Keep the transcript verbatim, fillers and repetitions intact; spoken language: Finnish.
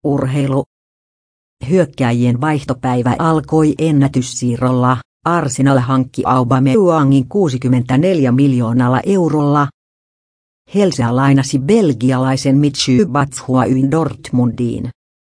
Urheilu. Hyökkääjien vaihtopäivä alkoi ennätyssiirrolla. Arsenal hankki Aubameyangin kuusikymmentäneljä miljoonalla eurolla. Chelsea lainasi belgialaisen Michy Batshuayin Dortmundiin.